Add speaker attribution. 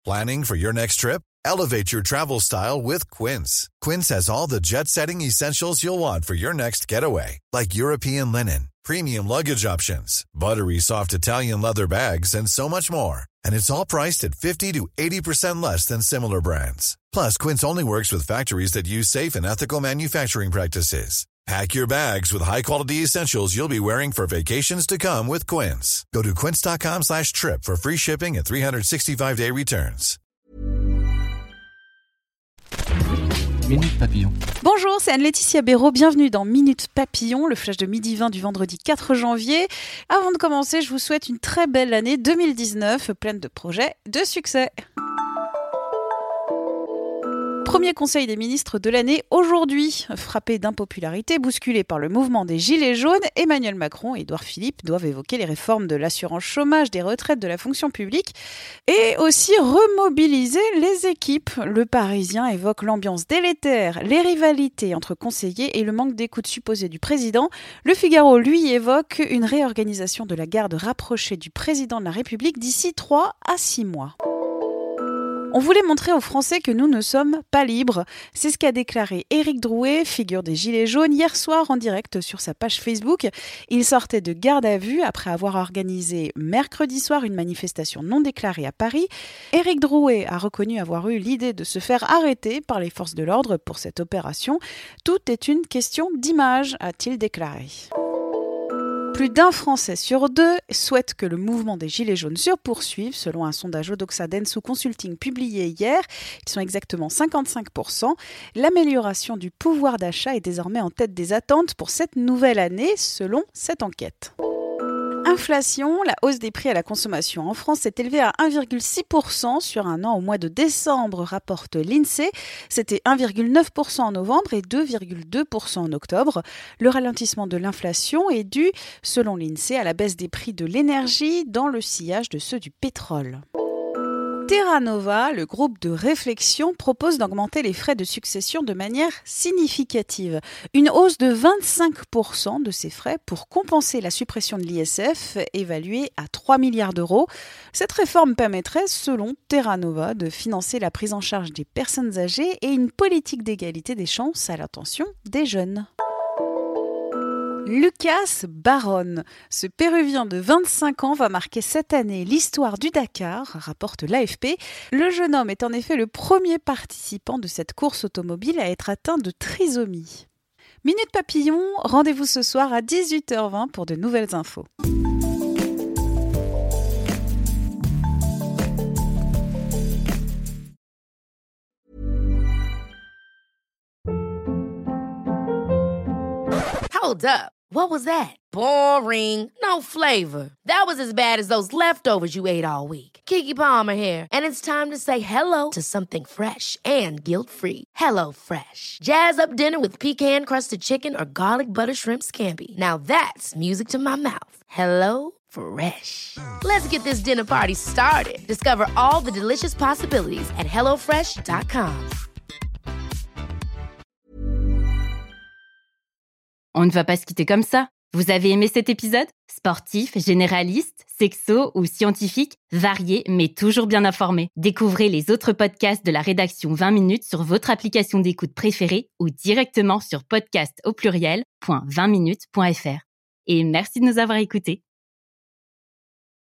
Speaker 1: Planning for your next trip? Elevate your travel style with Quince. Quince has all the jet-setting essentials you'll want for your next getaway, like European linen, premium luggage options, buttery soft Italian leather bags, and so much more. And it's all priced at 50 to 80% less than similar brands. Plus, Quince only works with factories that use safe and ethical manufacturing practices. Pack your bags with high-quality essentials you'll be wearing for vacations to come with Quince. Go to quince.com/trip for free shipping and 365-day returns.
Speaker 2: Minute Papillon.
Speaker 3: Bonjour, c'est Anne-Laetitia Béraud. Bienvenue dans Minute Papillon, le flash de midi 20 du vendredi 4 janvier. Avant de commencer, je vous souhaite une très belle année 2019, pleine de projets de succès. Premier conseil des ministres de l'année aujourd'hui. Frappé d'impopularité, bousculé par le mouvement des Gilets jaunes, Emmanuel Macron et Édouard Philippe doivent évoquer les réformes de l'assurance chômage, des retraites, de la fonction publique et aussi remobiliser les équipes. Le Parisien évoque l'ambiance délétère, les rivalités entre conseillers et le manque d'écoute supposé du président. Le Figaro, lui, évoque une réorganisation de la garde rapprochée du président de la République d'ici 3 à 6 mois. On voulait montrer aux Français que nous ne sommes pas libres. C'est ce qu'a déclaré Éric Drouet, figure des Gilets jaunes, hier soir en direct sur sa page Facebook. Il sortait de garde à vue après avoir organisé mercredi soir une manifestation non déclarée à Paris. Éric Drouet a reconnu avoir eu l'idée de se faire arrêter par les forces de l'ordre pour cette opération. Tout est une question d'image, a-t-il déclaré. Plus d'un Français sur 2 souhaite que le mouvement des Gilets jaunes se poursuive, selon un sondage Odoxa Densu Consulting publié hier. Ils sont exactement 55%. L'amélioration du pouvoir d'achat est désormais en tête des attentes pour cette nouvelle année, selon cette enquête. Inflation, la hausse des prix à la consommation en France s'est élevée à 1,6% sur un an au mois de décembre, rapporte l'INSEE. C'était 1,9% en novembre et 2,2% en octobre. Le ralentissement de l'inflation est dû, selon l'INSEE, à la baisse des prix de l'énergie dans le sillage de ceux du pétrole. Terra Nova, le groupe de réflexion, propose d'augmenter les frais de succession de manière significative. Une hausse de 25% de ces frais pour compenser la suppression de l'ISF, évaluée à 3 milliards d'euros. Cette réforme permettrait, selon Terra Nova, de financer la prise en charge des personnes âgées et une politique d'égalité des chances à l'intention des jeunes. Lucas Barone, ce Péruvien de 25 ans va marquer cette année l'histoire du Dakar, rapporte l'AFP. Le jeune homme est en effet le premier participant de cette course automobile à être atteint de trisomie. Minute Papillon, rendez-vous ce soir à 18h20 pour de nouvelles infos.
Speaker 4: Hold up. What was that? Boring. No flavor. That was as bad as those leftovers you ate all week. Keke Palmer here, and it's time to say hello to something fresh and guilt-free. Hello Fresh. Jazz up dinner with pecan-crusted chicken or garlic butter shrimp scampi. Now that's music to my mouth. Hello Fresh. Let's get this dinner party started. Discover all the delicious possibilities at hellofresh.com.
Speaker 5: On ne va pas se quitter comme ça. Vous avez aimé cet épisode ? Sportif, généraliste, sexo ou scientifique, varié mais toujours bien informé. Découvrez les autres podcasts de la rédaction 20 minutes sur votre application d'écoute préférée ou directement sur podcast@20minutes.fr. Et merci de nous avoir écoutés.